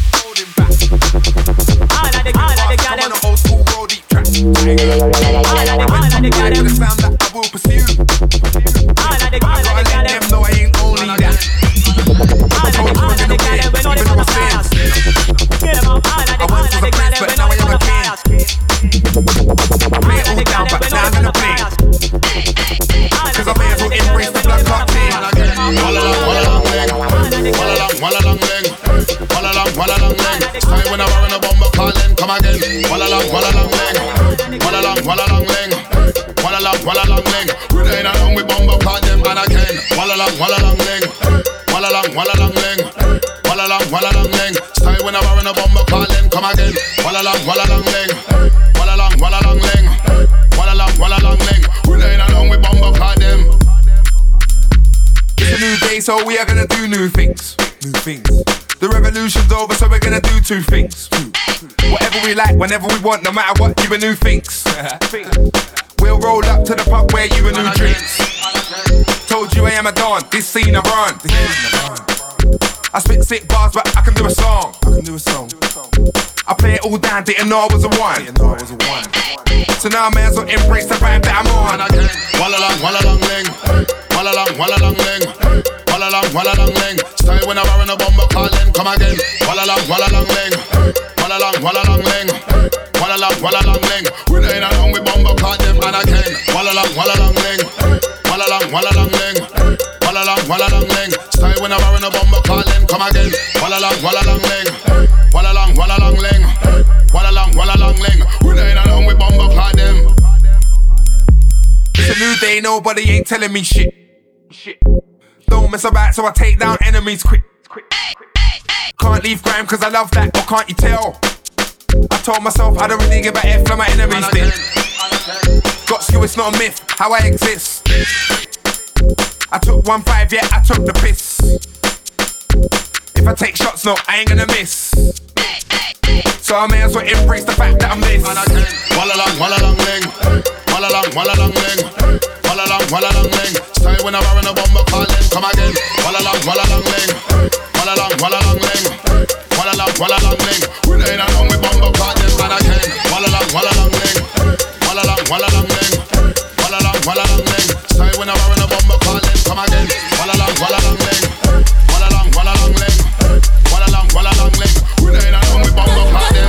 All of the, all of the gyal them. Old school road deep track. All of the, all of the gyal them. The sound that I will pursue. All of the, all of the gyal them. No, I ain't only that. All of the, all of the gyal them. We know the butterflies. Get them up. All of the, all of the gyal them. We know the butterflies. Lay it all down, but now I'm gonna play. Cause I may as well embrace the blood clot thing. Walla long, walla long leg. Walla long, walla long leg. Walla long, walla long leg. Time when I war in a bomber calling, come again. Walla long, walla long leg. Walla long, walla long leg. Walla long, walla long leg. We ain't along with bomber call them and again. Walla long, walla long leg. Walla long, walla long leg. Walla long, walla long leg. Time when I war in a bomber calling, come again. Walla long, walla long leg. Walla long, walla long leg. Walla long, walla long leg. We ain't along with bomber call them. It's a new day, so we are gonna do new things. New things. The revolution's over, so we're gonna do two things. Whatever we like, whenever we want, no matter what, you a new things. We'll roll up to the pub where you a new drinks. Told you I am a don, this scene I run. I spit sick bars, but I can do a song. I can do a song. I play it all down, didn't know I was a one. So now I may as well embrace the vibe that I'm on. Walla long, walla long leg. Walla long, walla long leg. Walla long, walla long leg. Style when I war in a bomber calling, come again. Walla long, walla long leg. Walla long, walla long leg. Walla long, walla long leg. We ain't along with bomber call them and again. Walla long, walla long leg. Walla long, walla long leg. Walla long, walla long leg. Style when I war in a bomber calling, come again. Walla long, walla long leg. Walla long, walla long ling. Walla long, walla long ling. We ain't along with bomber clock them. It's a new day, nobody ain't telling me shit. Shit. Don't mess about, so I take down enemies quick. Can't leave grime cause I love that, or can't you tell? I told myself I don't really give a F like my enemies did. Got skill, it's not a myth, how I exist. I took one five, yeah, I took the piss. If I take shots, no, I ain't gonna miss. So I may as well embrace the fact that I'm this. Walla long, walla long ling. Walla long, walla long ling. Walla long, walla long ling. Style when I'm wearing a bomber calling. Come again. Walla long, walla long ling. Walla long, walla long ling. Walla long, walla long ling. We ain't along with bomber calling. And again. Walla long, walla long ling. Walla long, walla long ling. Walla long, walla long ling. Style when I'm wearing a bomber calling. Come again. Walla long, walla long ling. Walla long, walla long ling. Walla long, walla long ling. We ain't along with bomber calling.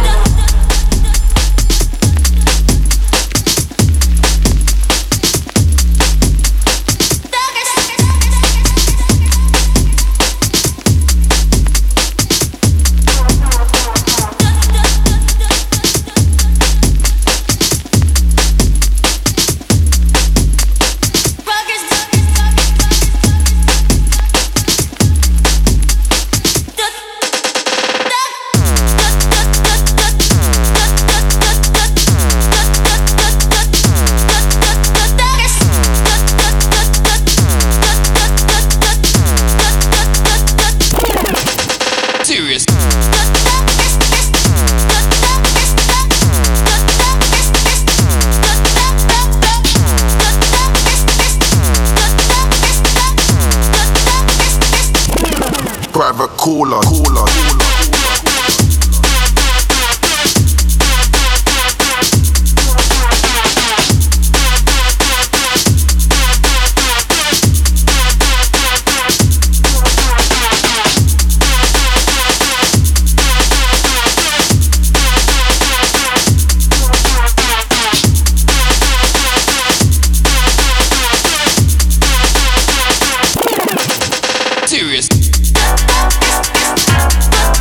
Private cooler, cooler, cooler. Serious.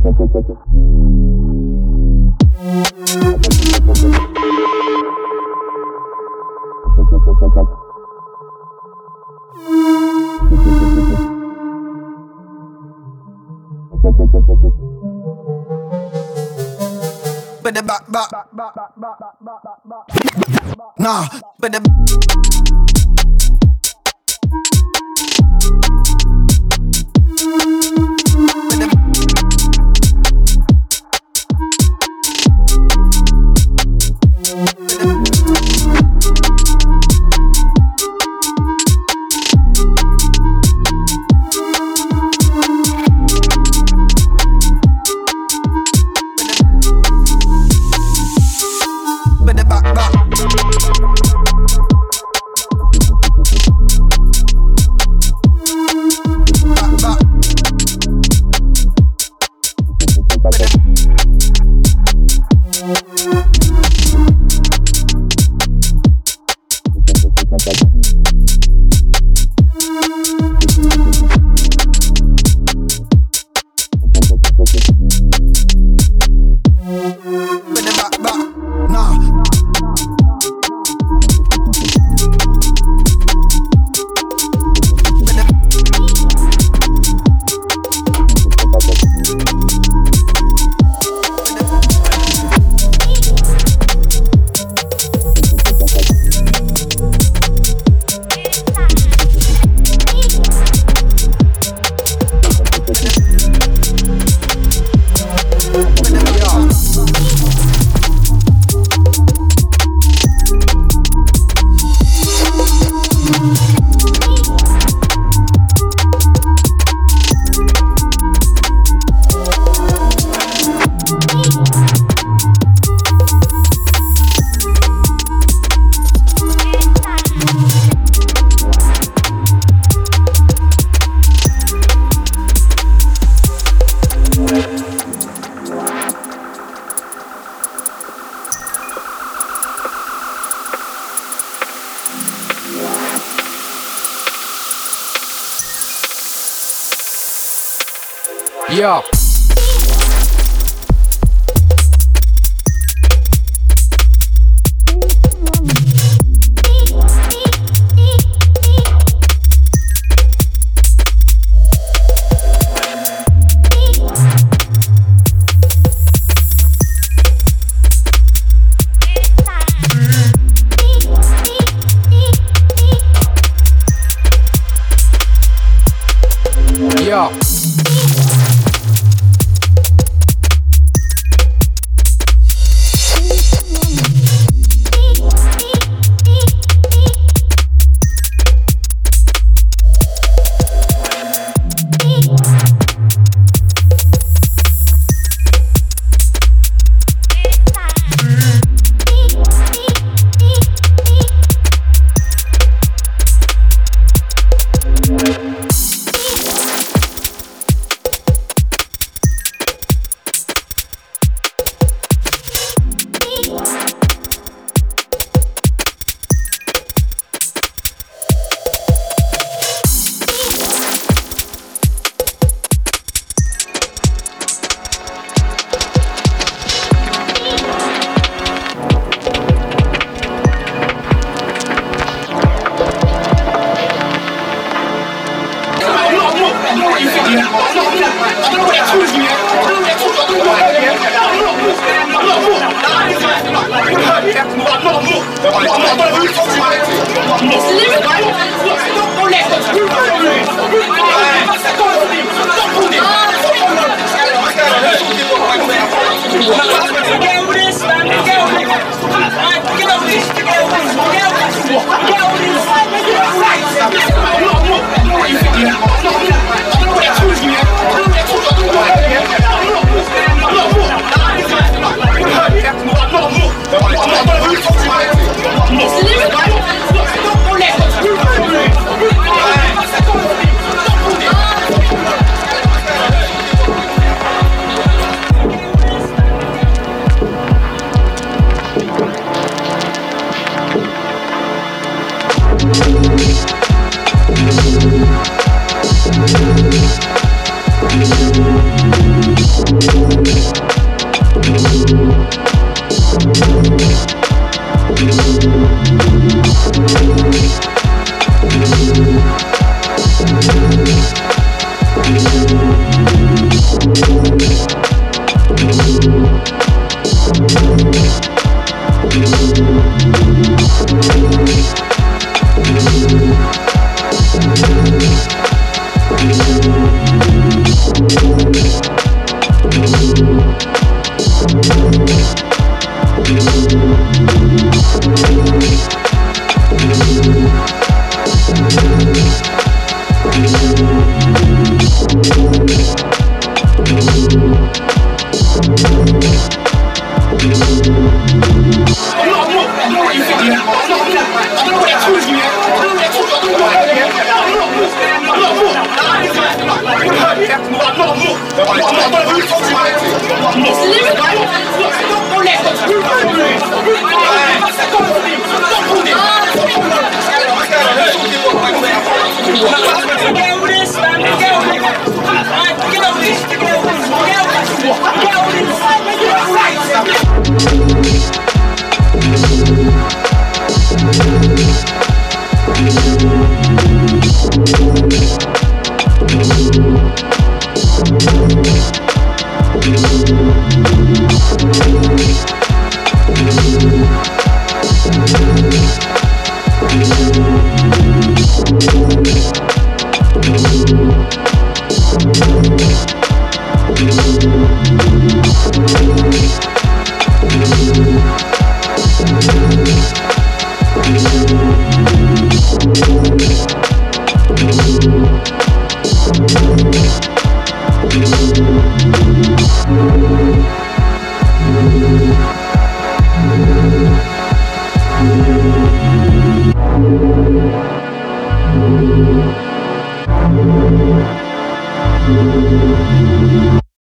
But the back, back, nah, but the Yeah.